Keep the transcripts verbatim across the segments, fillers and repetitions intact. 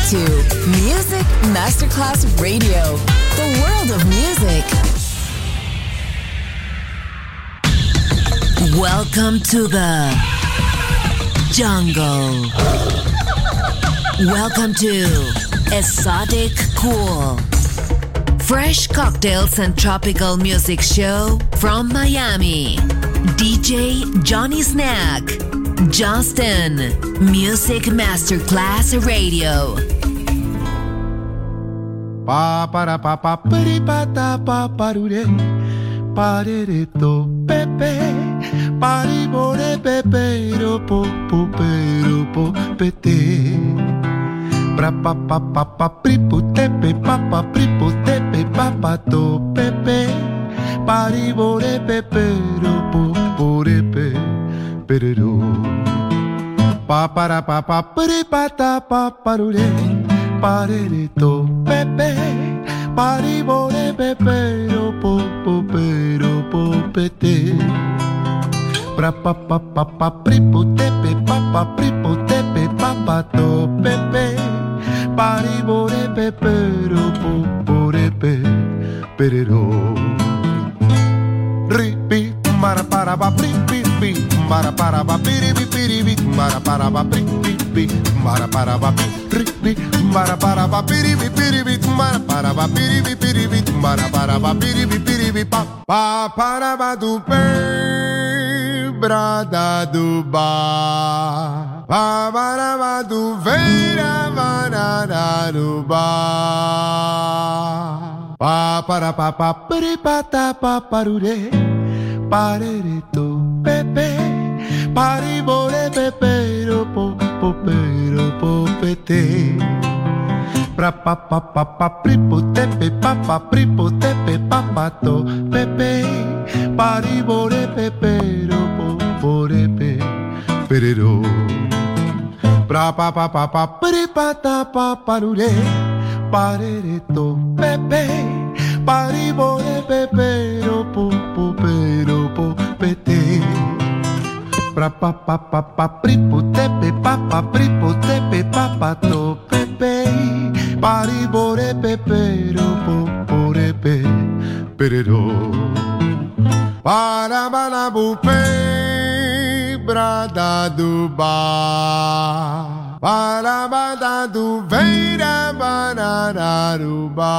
to Music Masterclass Radio, the world of music. Welcome to the jungle. Welcome to Exotic Cool. Fresh cocktails and tropical music show from Miami. D J Johnny Snack. Justin. Music Masterclass Radio. Pa para pa pa pari pa ta pa parure parere to pepe pari bore pepe ro po po pero po pete pra pa pa pa pa pri pu tepe pa pa pri pu tepe pa pa to pepe pari bore pepe ro po bore pe pero pa para pa pa pari pa ta pa parure parere to pepe pari bore pepe ro po po pero po pete pra pa pa pa pa pri pu tepe pa pa pri pu tepe pa pa to pepe pari bore pepe ro po bore pe pero ripi mara para ba pri pi pi mara para ba piri pi piri pi mara para ba pri pi pi mara para ba pri pi mara para ba piri pi piri pi mara para ba piri pi piri pi mara para ba piri pi piri pi pa pa para ba du pe brada du ba pa para ba du vera banana du ba pa para pa pa piri pa ta pa parure parere to pepe pari bore pepe ro po po pero po pete pra pa pa pa pa pri po tepe pa pa pri po tepe pa pa to pepe pari bore pepe ro po bore pe pero pra pa pa pa pa pri pa ta pa parure parere to pepe pari bore pepe ro po po pero po pete pra pa pa pa pa pri po tepe pa pa pri po tepe pa pa to pepe pari bore pepe ro po bore pe pero para bala bu pe brada du ba para bada du veira banana du ba.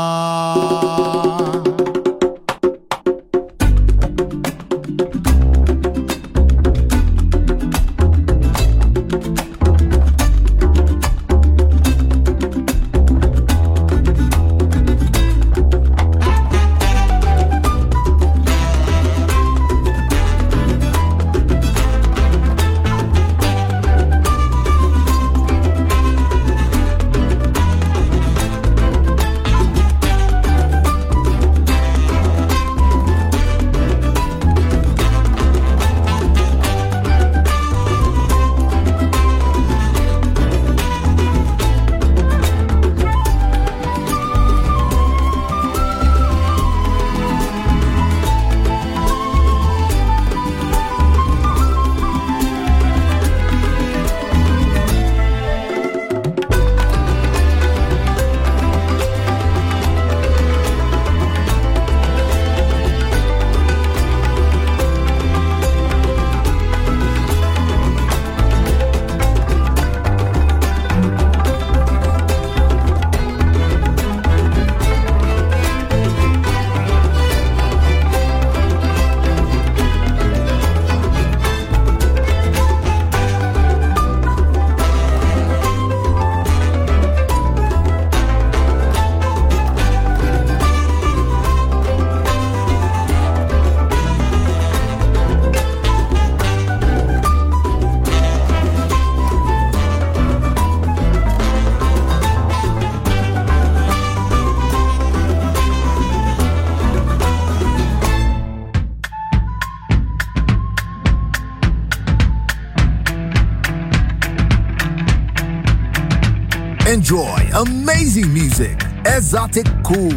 Enjoy amazing music. Exotic Cool.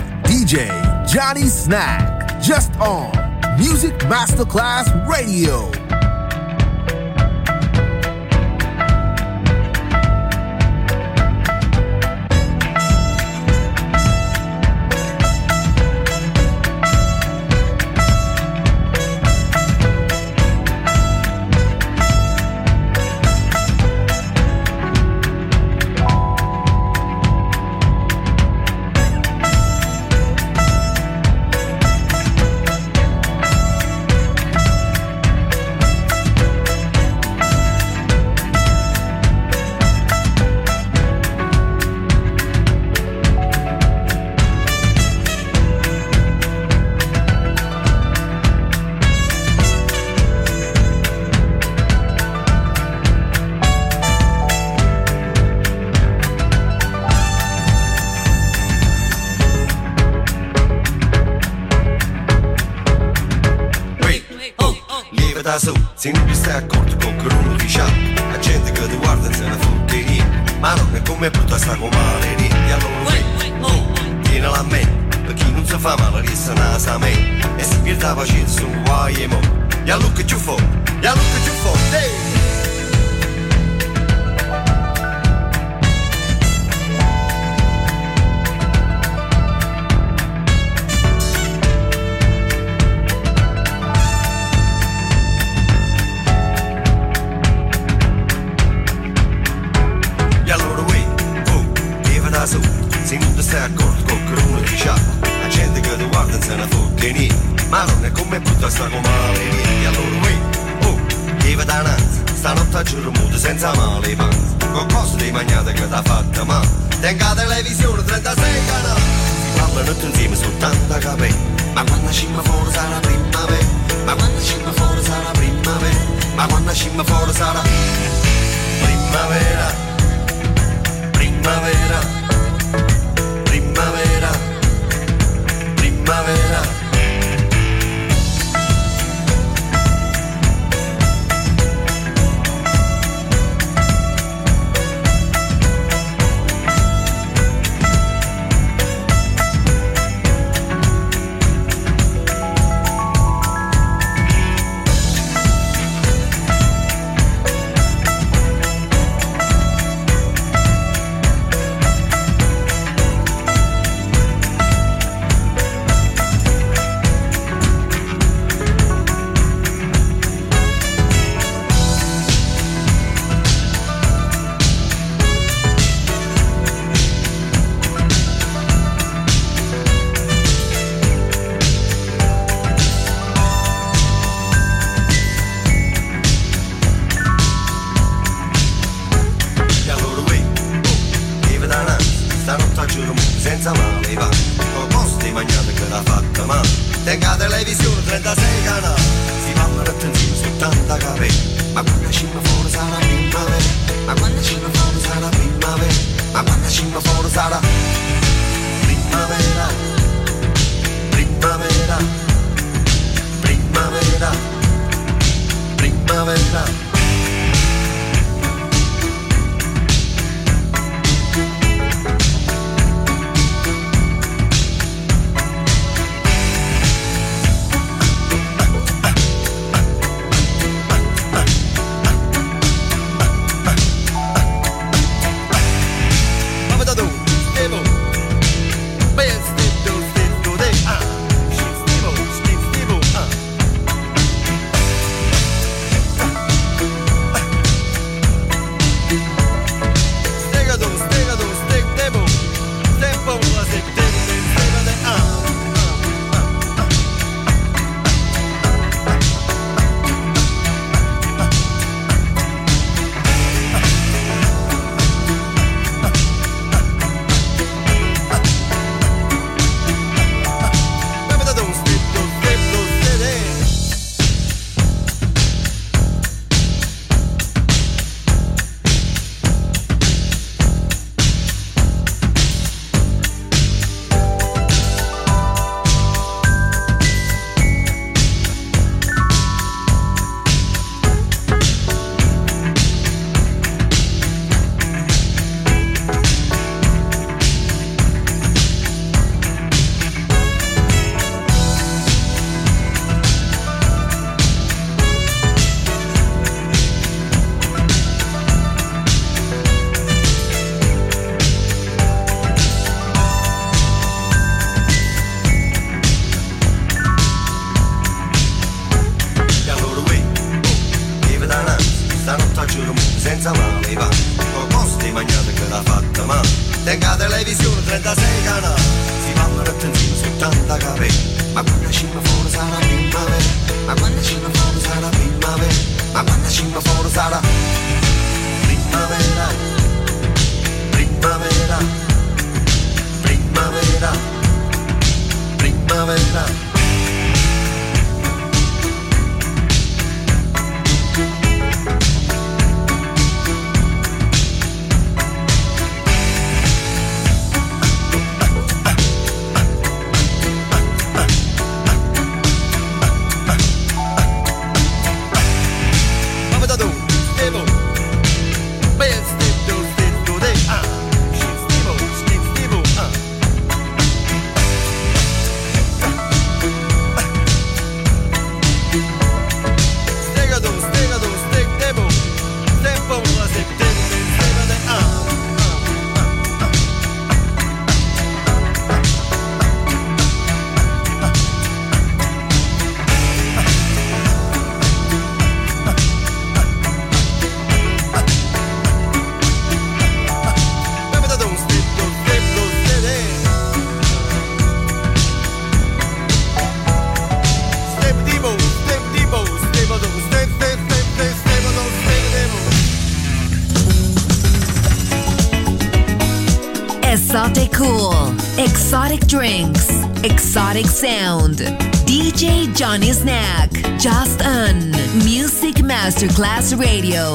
D J Johnny Snack. Just on Music Masterclass Radio. se non ti stai accorto con che uno ti sciappa, la gente che ti guarda se ne fotte niente, ma non è come brutta sta con male niente, allora vedi, oh, tienila a me, per chi non si fa male resta nasa a me, e si pierde la pazienza su un guai e mo, e allora che ci fa, e allora che ci fa, ehi! Se non ti stai accorto con che uno ti sciappa, la gente che ti guarda se ne fotte niente, ma non è come brutta sta con male niente, allora uè, oh, viva dananza, stanotte a giorno muto senza male panza, con cose di magnate che t'ha fatta male, tenga televisione trentasei canali, si parlano tutti insieme soltanto a capire, ma quando scimma fuori sarà primavera, ma quando scimma fuori sarà primavera, ma quando scimma fuori sarà primavera, primavera. Primavera, primavera. Senza male va, con posti magnate che l'ha fatta male, tenga televisione trentasei canali, si parlano attenzione soltanto a capire, ma quando scimma fuori sarà primavera, ma quando scimma fuori sarà primavera, ma quando scimma fuori sarà primavera, primavera, primavera, primavera. Senza male va, con posti magnate che l'ha fatta male, tenga televisione trentasei canali, si parlano attenzione soltanto a capire, ma quando scimma fuori sarà primavera, ma quando scimma fuori sarà primavera, ma quando scimma fuori sarà primavera, primavera, primavera, primavera. Exotic Cool, exotic drinks, exotic sound. D J Johnny Snack, just on Music Masterclass Radio.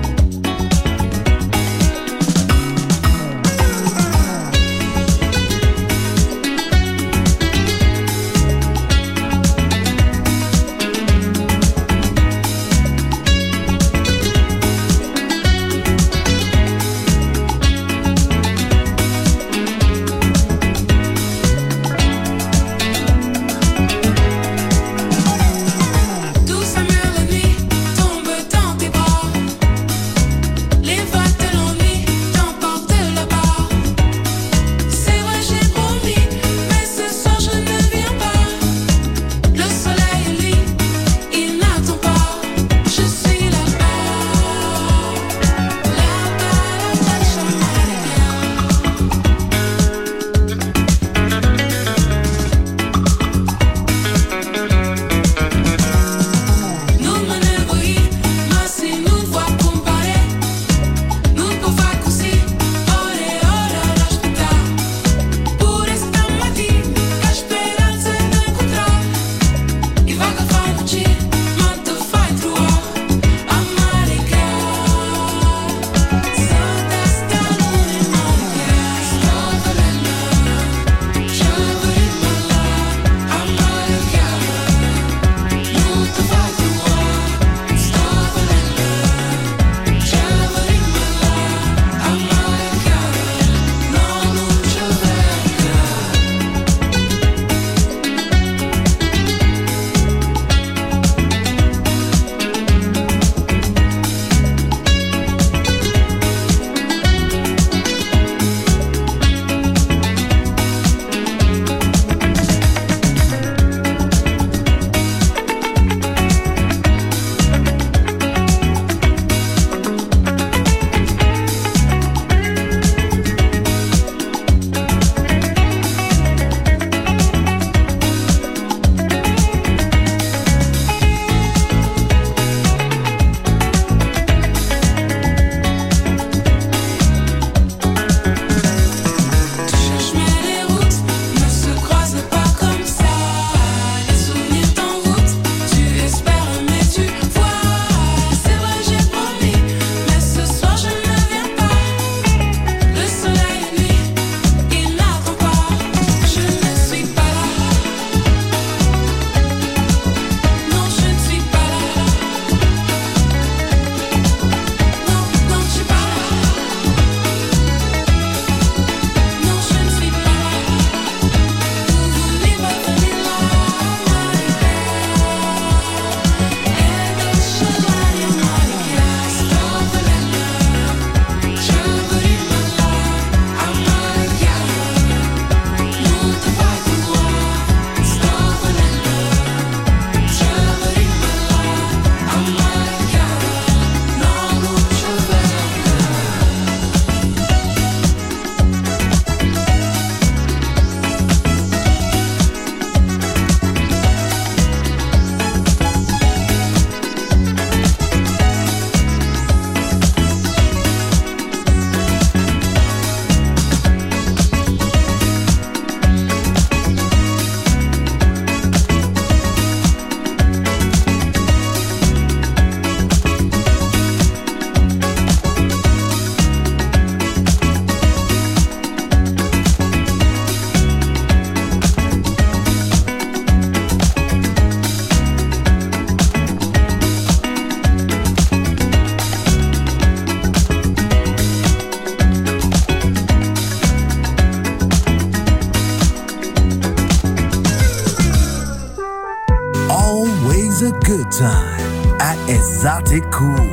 good time at Exotic Cool.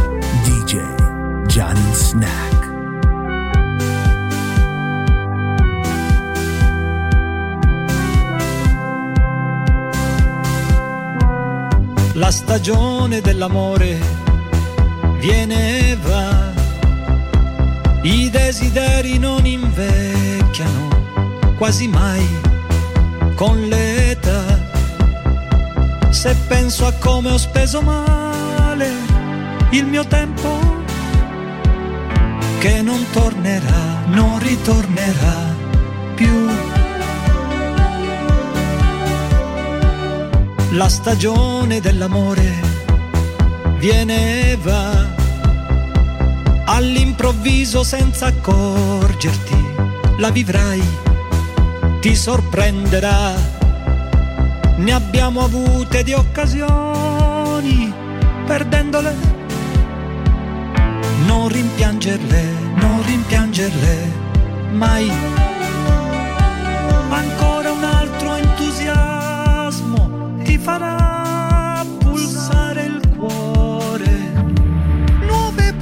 D J Johnny Snack. La stagione dell'amore viene e va, i desideri non invecchiano quasi mai con l'età. Se penso a come ho speso male il mio tempo, che non tornerà, non ritornerà più. La stagione dell'amore viene e va all'improvviso senza accorgerti, la vivrai, ti sorprenderà. Ne abbiamo avute di occasioni, perdendole. Non rimpiangerle, non rimpiangerle mai. Ancora un altro entusiasmo ti farà pulsare il cuore. Nuove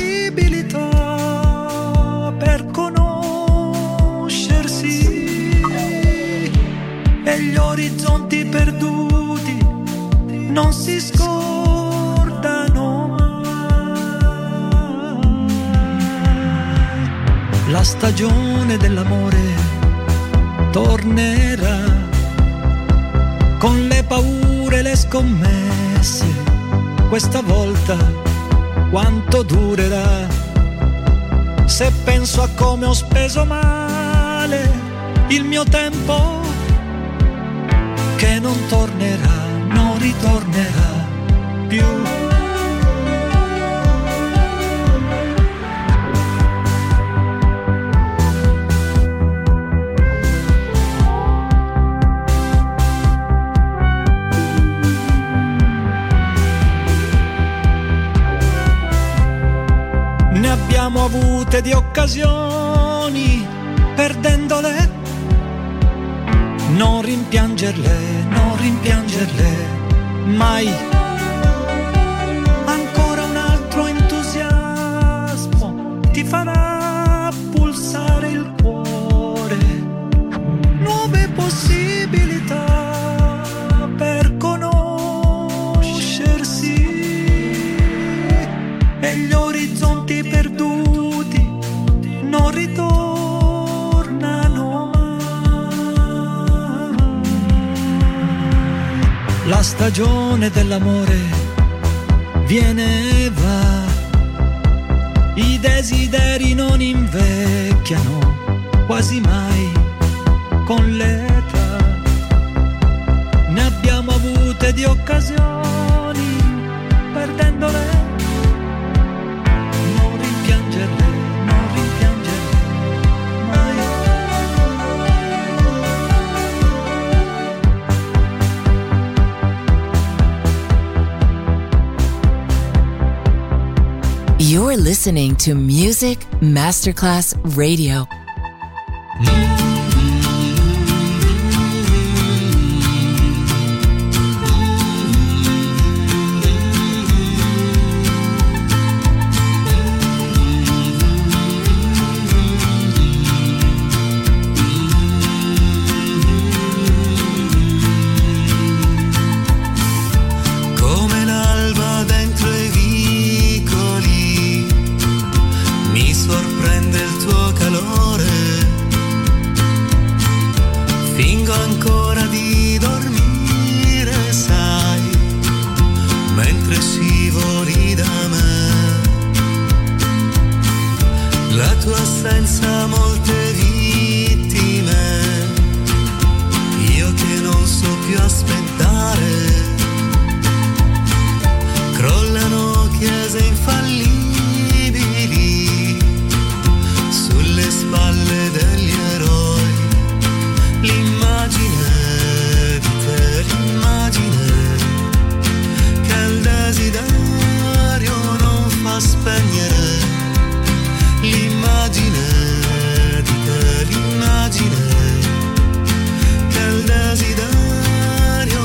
possibilità per conoscersi e gli orizzonti perduti non si scordano mai. La stagione dell'amore tornerà con le paure e le scommesse. Questa volta quanto durerà? Se penso a come ho speso male il mio tempo, che non tornerà, non ritornerà più. Ne abbiamo avute di occasioni, perdendole. Non rimpiangerle, non rimpiangerle mai. Ancora un altro entusiasmo ti farà pulsare il cuore. Nuove possibilità per conoscersi e gli orizzonti perduti non ritornano mai. La stagione dell'amore viene e va, i desideri non invecchiano quasi mai con l'età. Ne abbiamo avute di occasioni, perdendole. Non rimpiangerle, non rimpiangerle mai. You're listening to Music Masterclass Radio. Come l'alba dentro i vicoli, mi sorprende il tuo calore. Fingo ancora di dormire, sai, mentre scivoli da me. La tua assenza ha molte vittime, io che non so più aspettare. Crollano chiese infallibili sulle spalle degli eroi. L'immagine di te, l'immagine che il desiderio non fa spegnere. L'immagine di te, l'immagine che il desiderio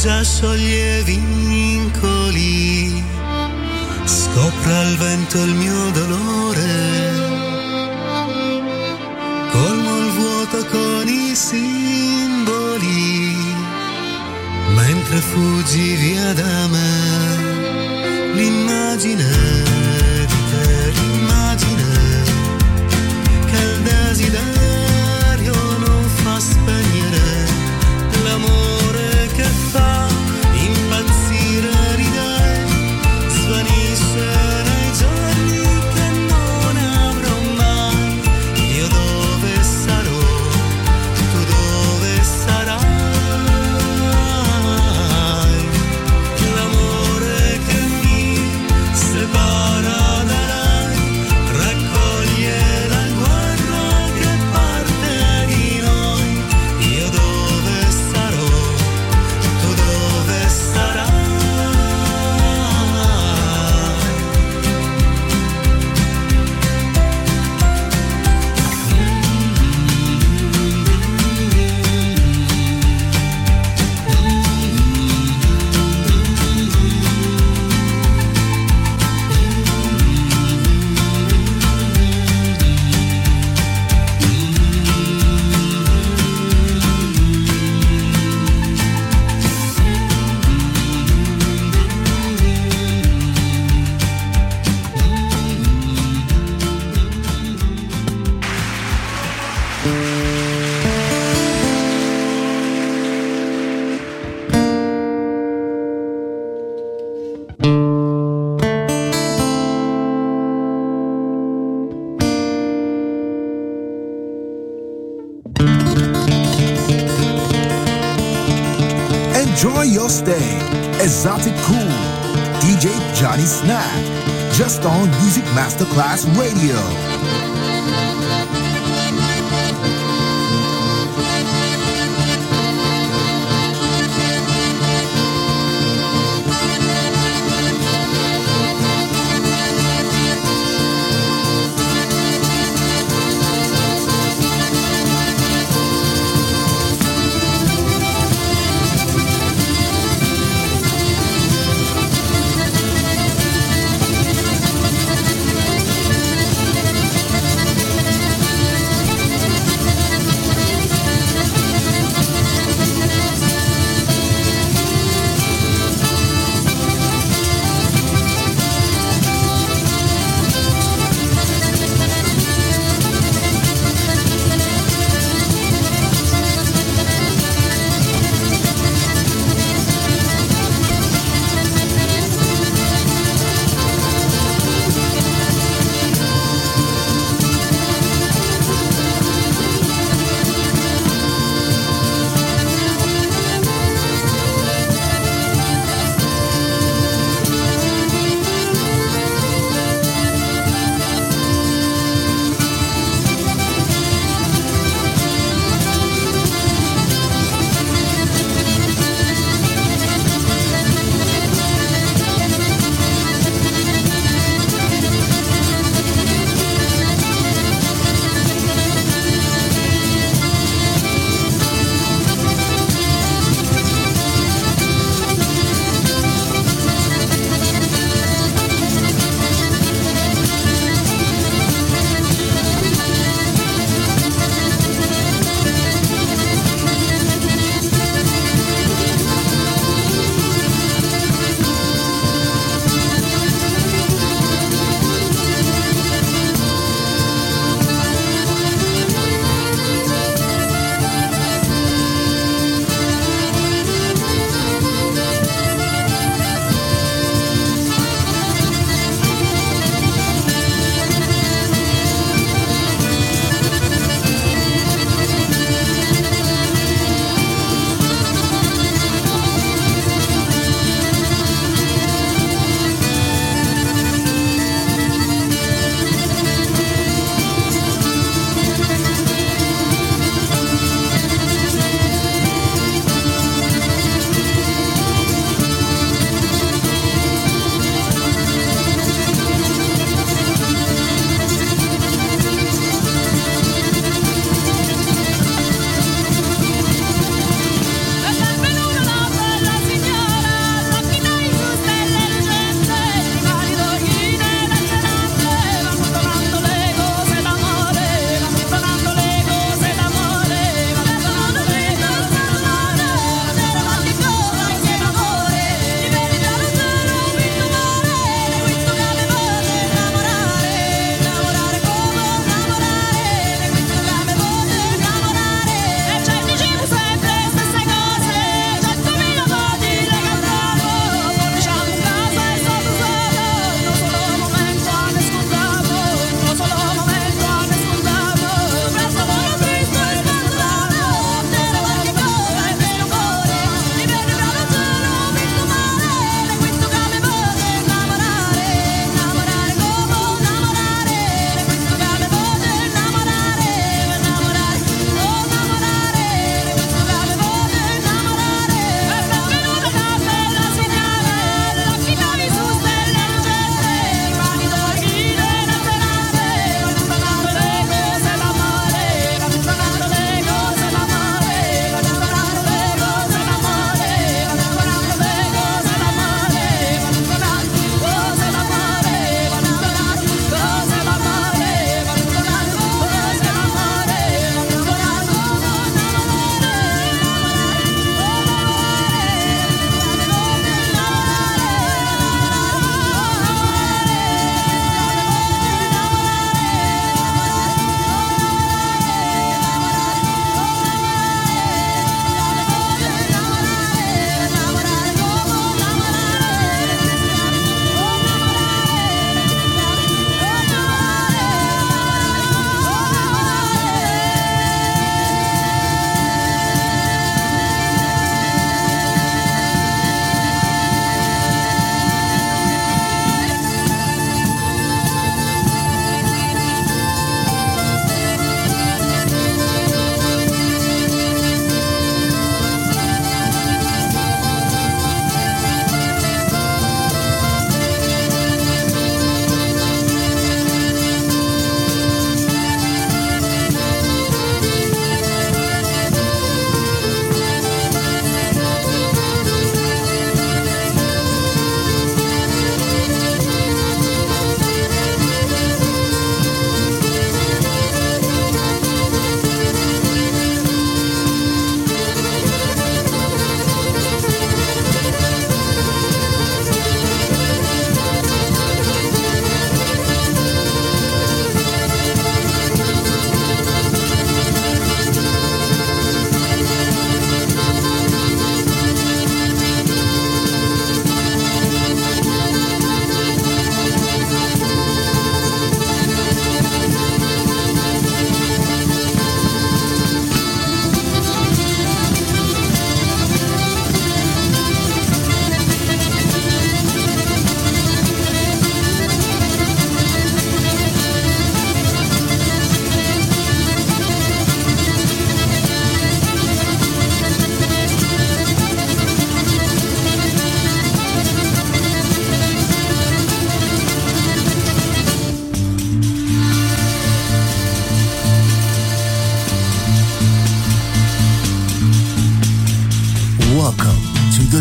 già scioglie vincoli, scopra il vento il mio dolore, colmo il vuoto con i simboli, mentre fuggi via da me, l'immagine di te, l'immagine che il desiderio non fa spegnere, l'amore che fa impazzire di te, svanisce nei giorni che non avrò mai. Io dove sarò, tu dove sarai, l'amore che mi separa da lei raccoglie la guerra che parte di noi. Io dove sarò, tu dove sarai. Enjoy your stay. Exotic Cool. D J Johnny Snack. Just on Music Masterclass Radio.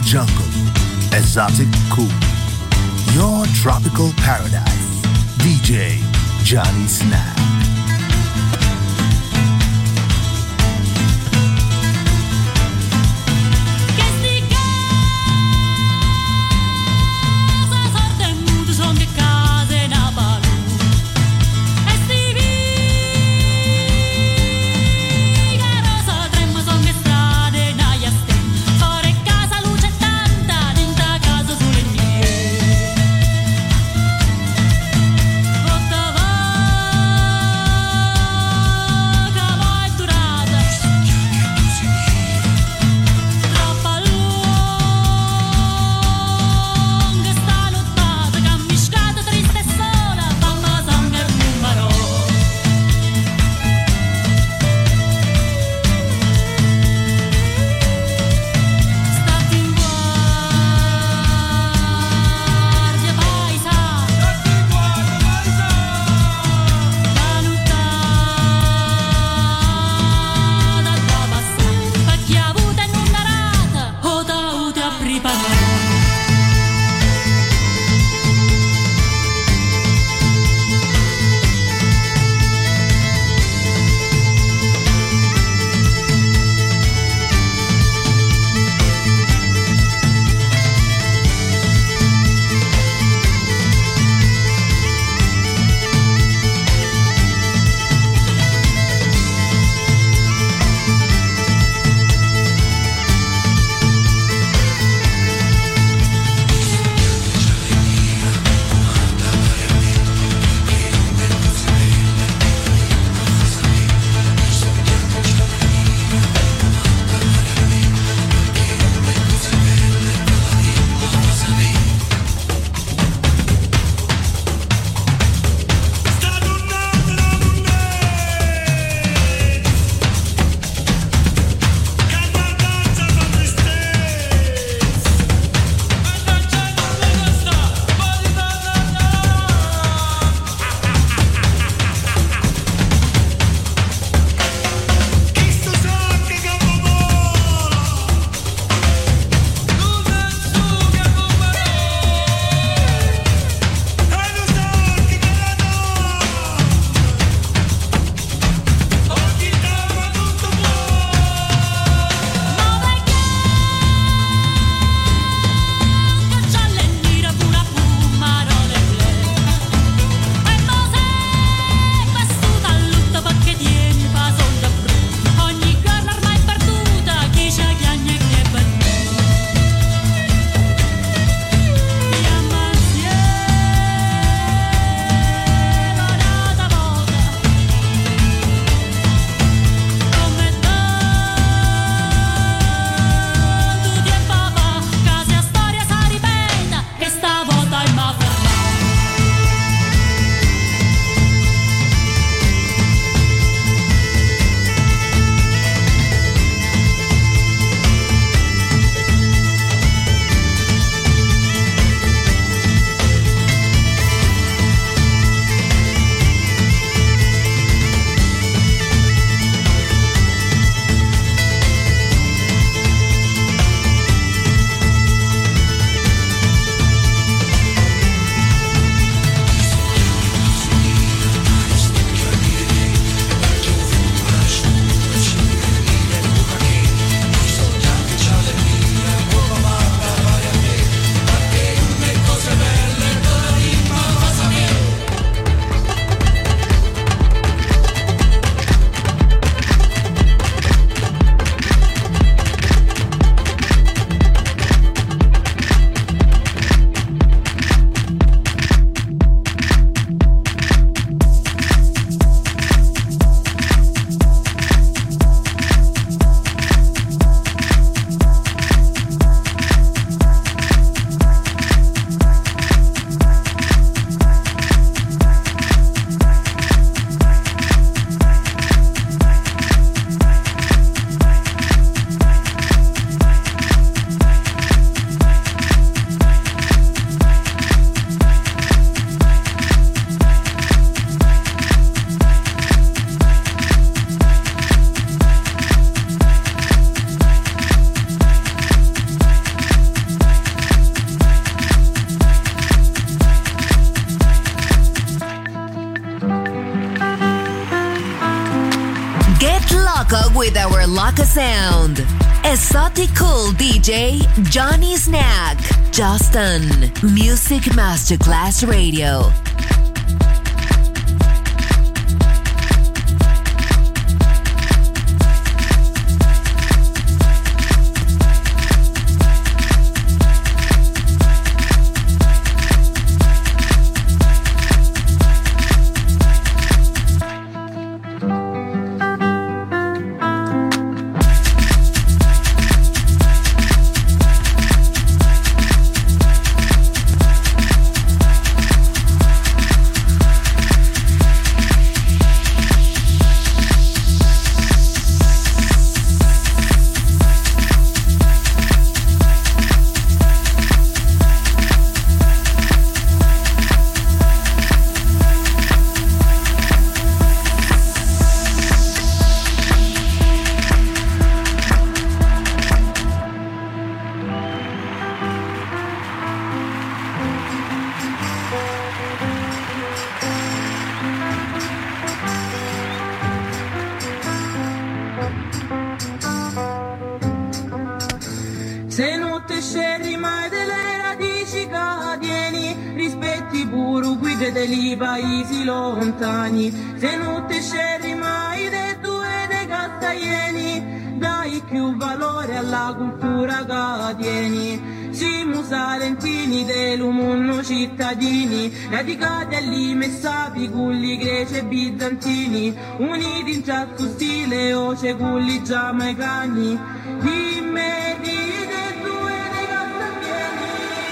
the jungle, exotic cool. Your tropical paradise, D J Johnny Snack. Bottava Loco with our Loco sound. Exotic Cool D J Johnny Snack. Just on Music Masterclass Radio. dei paesi lontani, se non ti scegli mai dei due dei castaglieni, dai più valore alla cultura che tieni. Siamo salentini dell'umunno cittadini, radicati all'i messapi, culli greci e bizantini, uniti in certo stile o c'è culli giamaicani, immediti dei due dei castaglieni.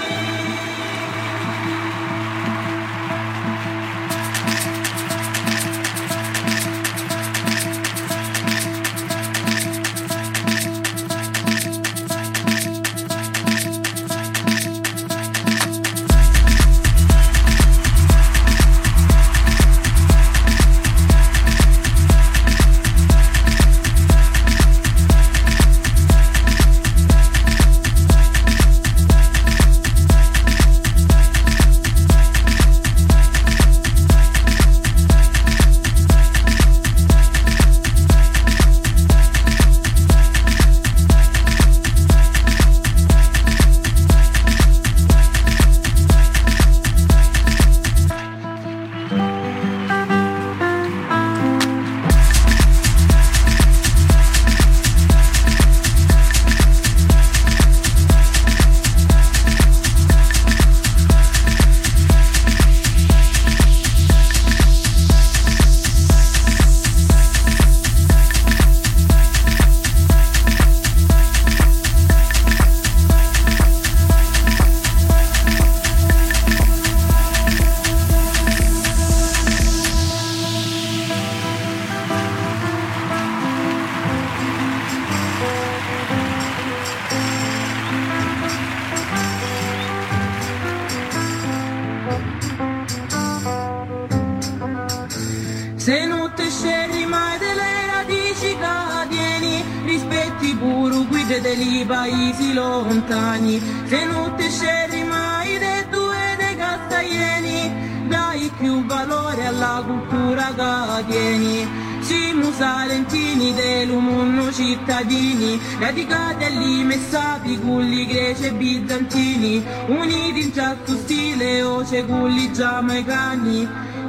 Se non ti scegli mai delle radici che tieni, rispetti pure guide dei paesi lontani. Se non ti scegli mai dei due dei castaglieni, dai più valore alla cultura che tieni. Siamo salentini dell'umunno cittadini, radicati all'i messapi, culli greci e bizantini, uniti in certo stile o c'è culli giamaicani,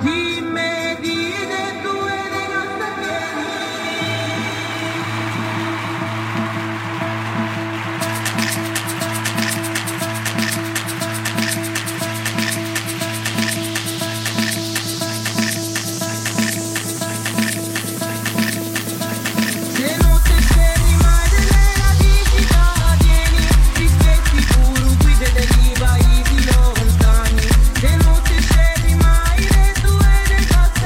immediti. Paesi lontani, se non ti scegli mai dei due dei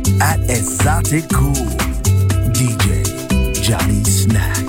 at Exotic Cool. D J Johnny Snack.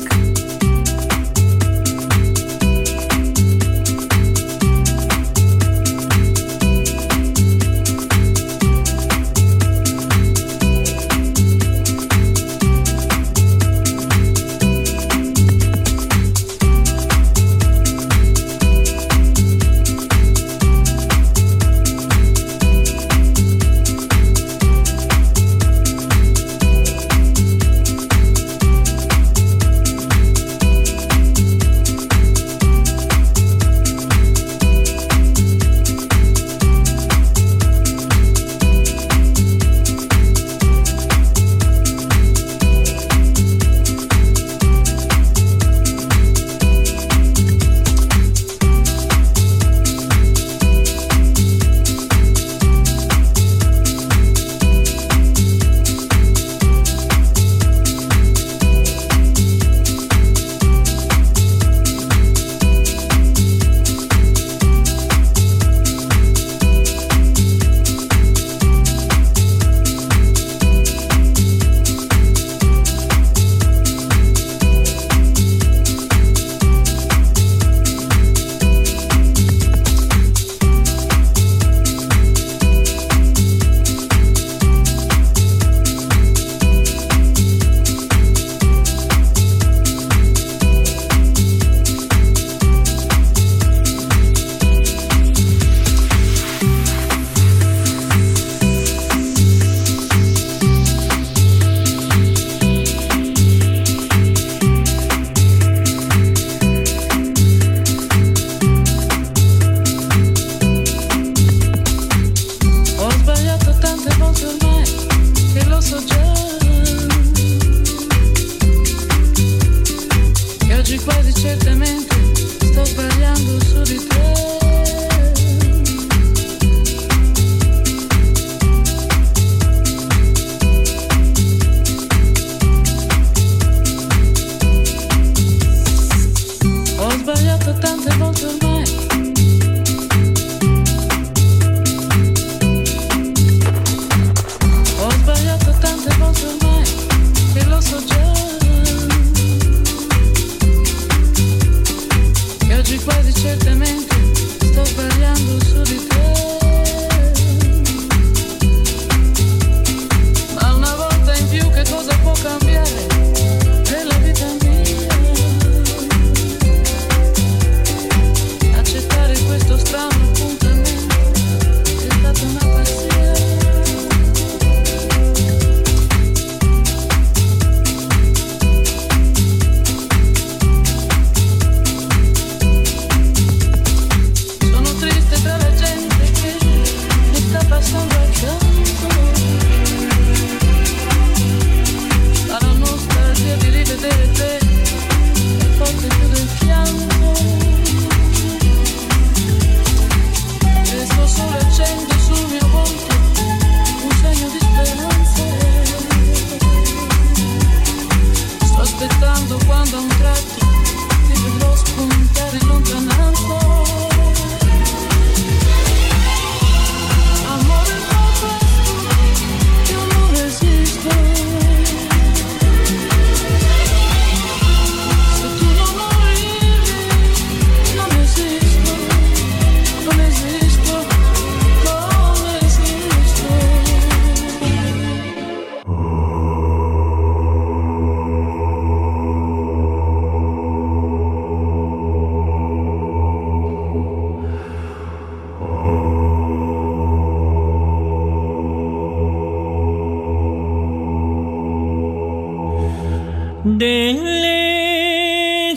delle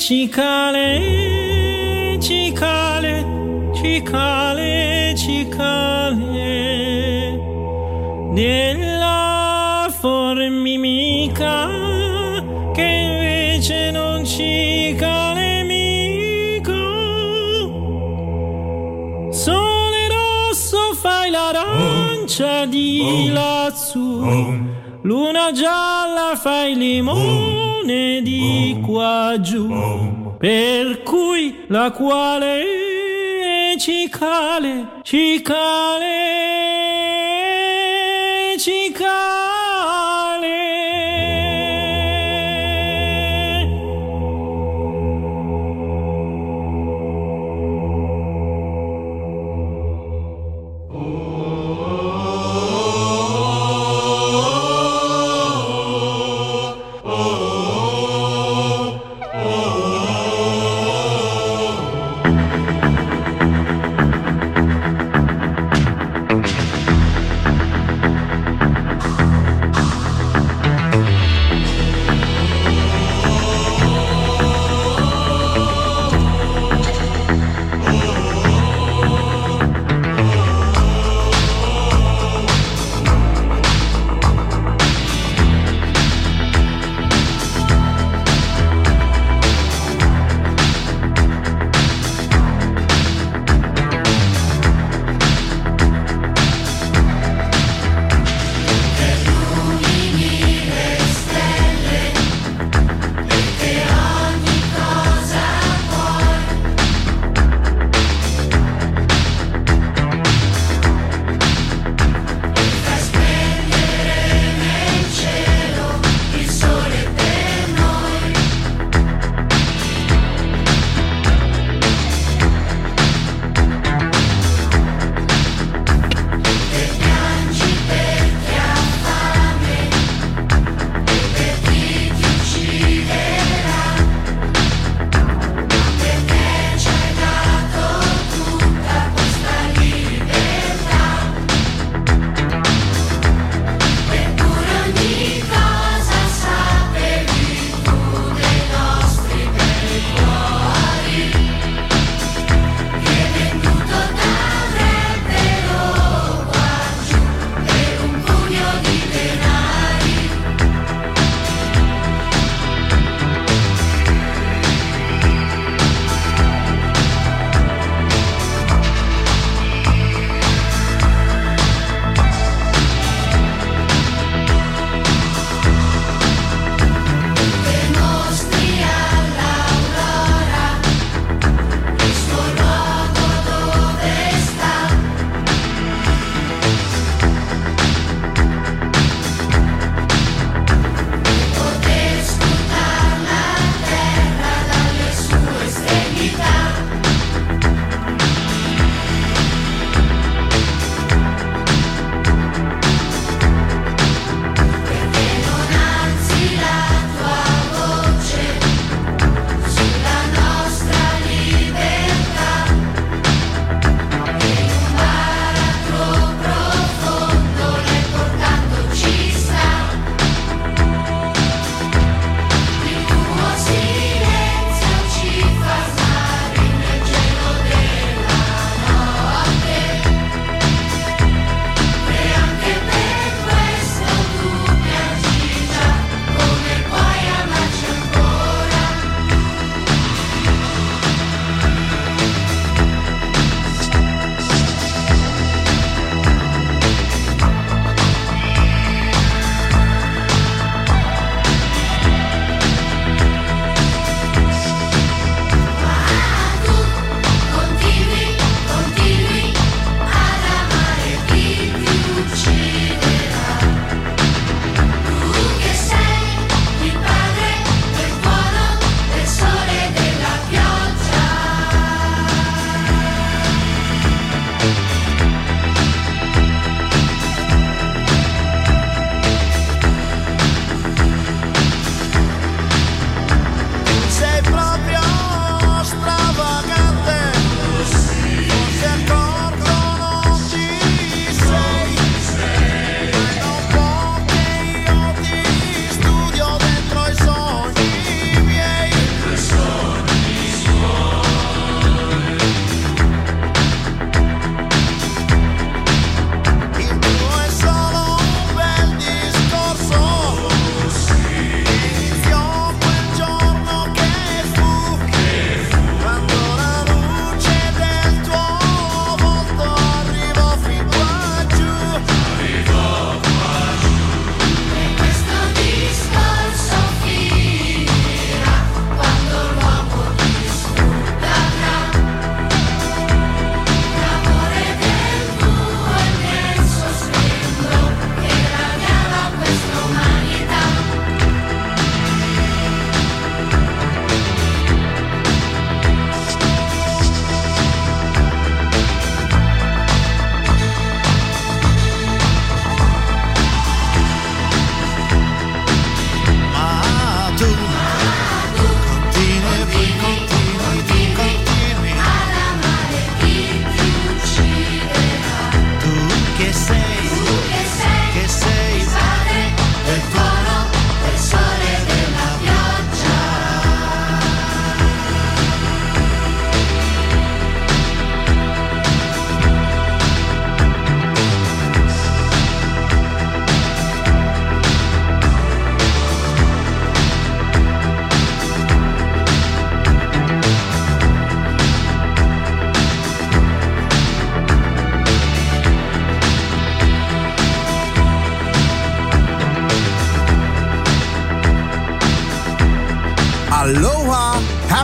cicale, cicale, cicale, cicale, della formica che invece non cicale mica. Sole rosso fai l'arancia di lassù, luna gialla fai limone di qua giù, per cui la quale cicale, cicale, cicale.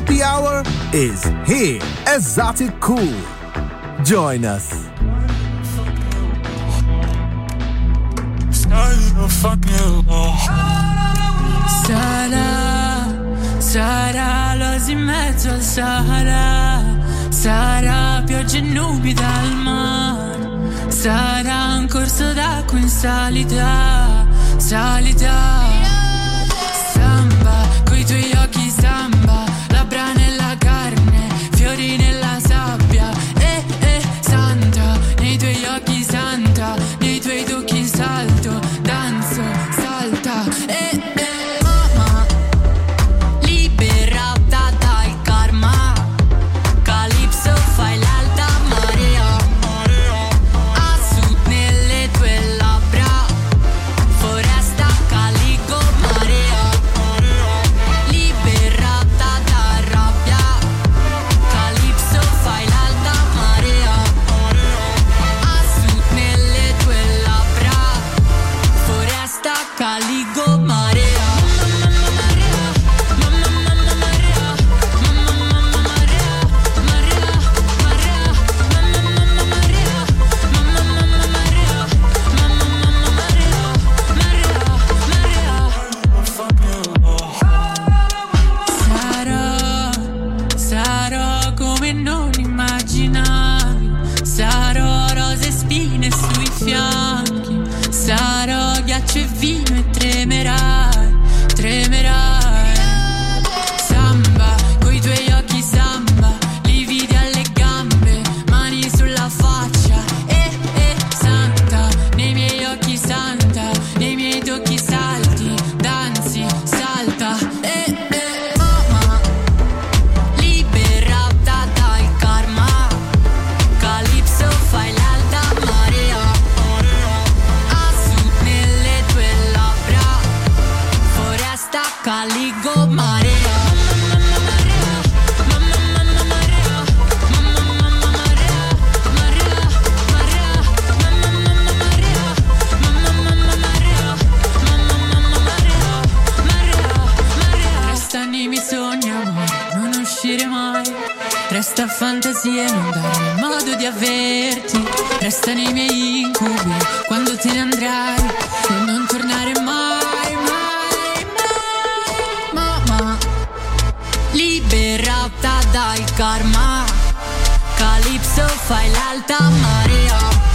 happy hour is here. Exotic Cool. Join us. Sarà, sarà l'oasi in mezzo al Sahara, sarà pioggia e nubi dal mare, sarà un corso d'acqua in salita, salita. Samba, coi tuoi occhi samba, labbra nella carne, fiori nella sabbia. Eh, eh, santa, nei tuoi occhi santa, nei tuoi tocchi salto, danzo, salta. Eh, eh. Resta fantasia, non darmi modo di averti. Resta nei miei incubi quando te ne andrai e non tornare mai, mai, mai. Mamma, liberata dal karma, Calypso fai l'alta marea,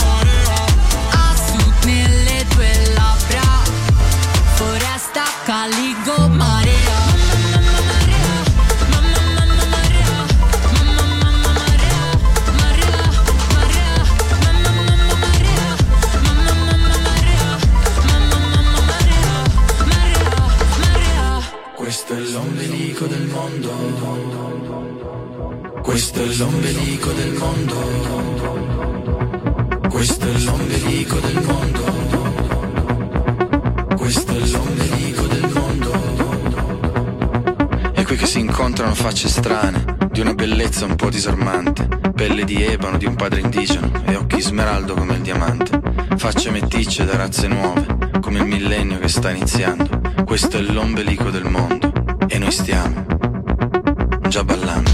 a sud nelle tue labbra, foresta Caligo marea. Questo è l'ombelico del mondo, questo è l'ombelico del mondo, questo è l'ombelico del mondo, questo è l'ombelico del mondo. E qui che si incontrano facce strane, di una bellezza un po' disarmante, pelle di ebano di un padre indigeno e occhi smeraldo come il diamante, facce meticce da razze nuove, come il millennio che sta iniziando. Questo è l'ombelico del mondo e noi stiamo già ballando.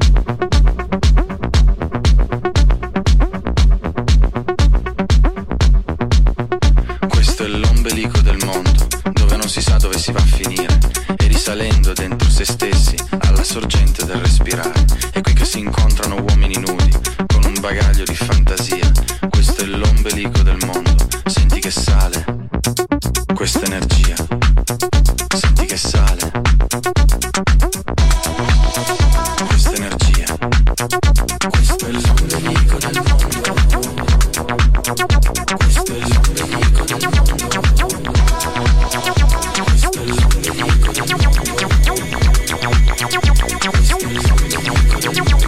Questo è l'ombelico del mondo, dove non si sa dove si va a finire, e risalendo dentro se stessi alla sorgente del respirare. È qui che si incontrano uomini nudi con un bagaglio di fantasia. Questo è l'ombelico del mondo, senti che sale questa energia. Senti che sale questa energia. Questo è l'ombelico del mondo. Questo è l'ombelico del mondo. Questo è l'ombelico del mondo. Questo è l'ombelico del mondo.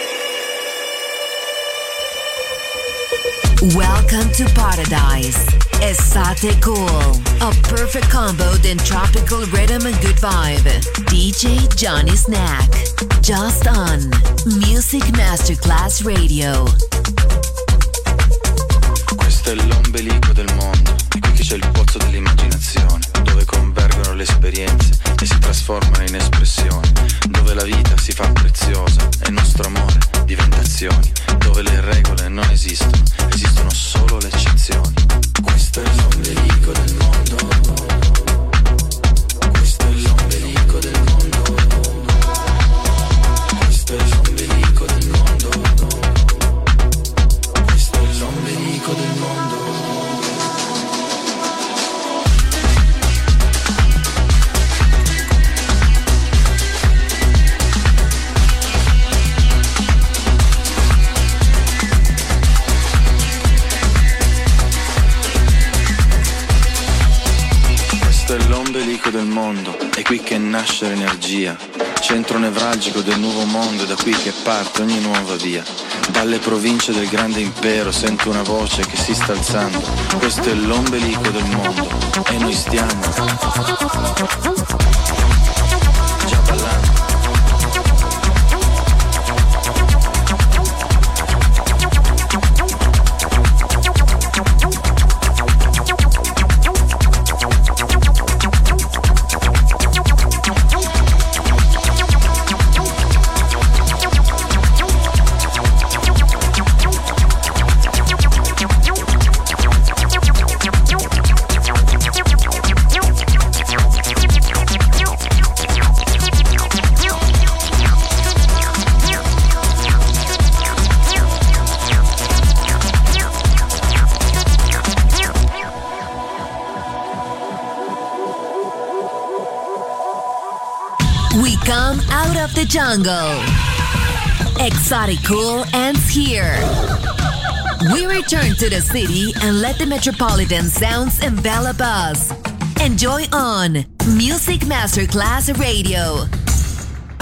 Welcome to Paradise. Exotic Cool, a perfect combo in tropical rhythm and good vibe. D J Johnny Snack, just on Music Masterclass Radio. Questo è l'ombelico del mondo, e qui c'è il pozzo dell'immaginazione, dove convergono le esperienze e si trasformano in espressioni, dove la vita si fa preziosa e il nostro amore diventa azioni, dove le regole non esistono, esistono solo le eccezioni. Questo è l'ombelico del mondo. Questo è l'ombelico del mondo. Questo è l'ombelico del mondo. Questo è l'ombelico del mondo. L'ombelico del mondo, è qui che nasce l'energia, centro nevralgico del nuovo mondo, è da qui che parte ogni nuova via. Dalle province del grande impero sento una voce che si sta alzando, questo è l'ombelico del mondo e noi stiamo già ballando. Come out of the jungle. Exotic Cool ends here. We return to the city and let the metropolitan sounds envelop us. Enjoy on Music Masterclass Radio.